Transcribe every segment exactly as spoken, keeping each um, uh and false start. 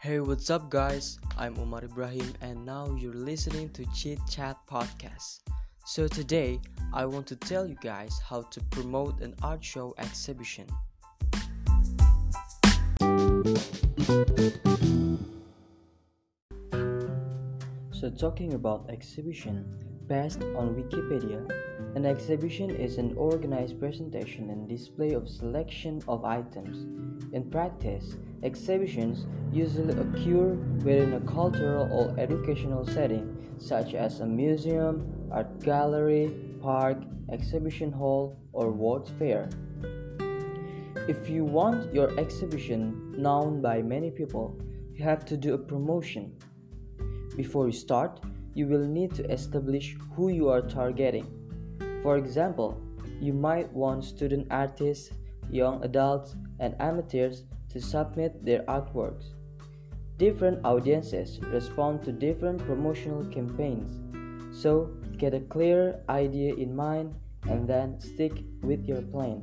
Hey, what's up, guys? I'm Umar Ibrahim, and now you're listening to Chit Chat Podcast. So, today I want to tell you guys how to promote an art show exhibition. So, talking about exhibition, based on Wikipedia, an exhibition is an organized presentation and display of selection of items. In practice, exhibitions usually occur within a cultural or educational setting, such as a museum, art gallery, park, exhibition hall, or world's fair. If you want your exhibition known by many people, you have to do a promotion. Before you start, you will need to establish who you are targeting. For example, you might want student artists, young adults, and amateurs to submit their artworks. Different audiences respond to different promotional campaigns, so get a clear idea in mind and then stick with your plan.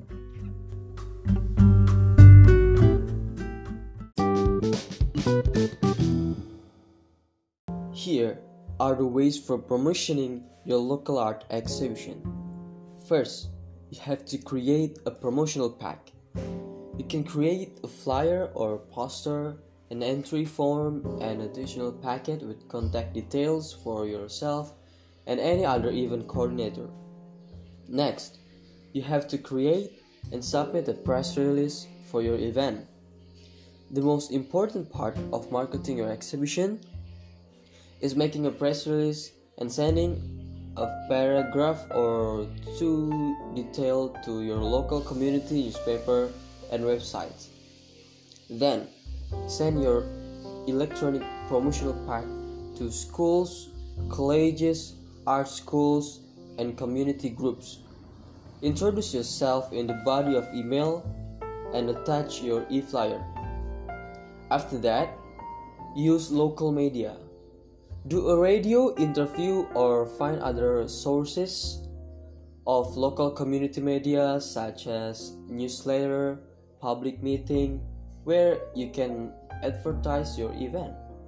Here are the ways for promoting your local art exhibition. First, you have to create a promotional pack. You can create a flyer or poster, an entry form, an additional packet with contact details for yourself and any other event coordinator. Next, you have to create and submit a press release for your event. The most important part of marketing your exhibition is making a press release and sending a paragraph or two detailed to your local community newspaper and websites. Then, send your electronic promotional pack to schools, colleges, art schools, and community groups. Introduce yourself in the body of email and attach your e-flyer. After that, use local media. Do a radio interview or find other sources of local community media such as newsletter, public meeting, where you can advertise your event.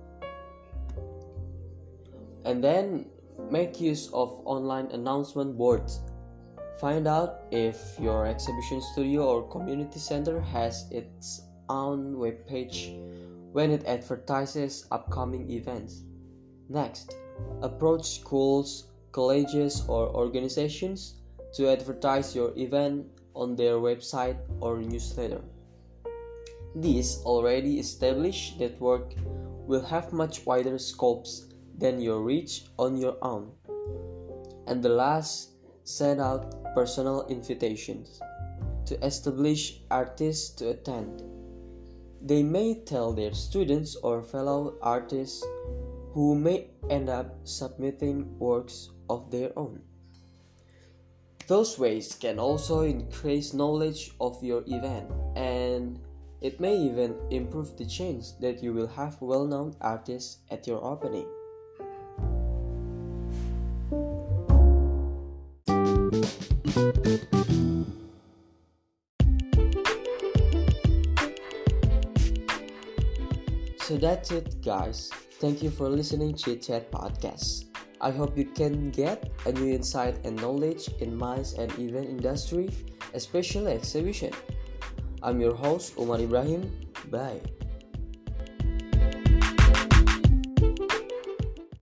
And then make use of online announcement boards. Find out if your exhibition studio or community center has its own webpage when it advertises upcoming events. Next, approach schools, colleges, or organizations to advertise your event on their website or newsletter. This already established network will have much wider scopes than your reach on your own. And the last, send out personal invitations to establish artists to attend. They may tell their students or fellow artists who may end up submitting works of their own. Those ways can also increase knowledge of your event, and it may even improve the chance that you will have well-known artists at your opening. So that's it, guys. Thank you for listening to Chit Chat Podcast. I hope you can get a new insight and knowledge in MICE and event industry, especially exhibition. I'm your host, Umar Ibrahim. Bye.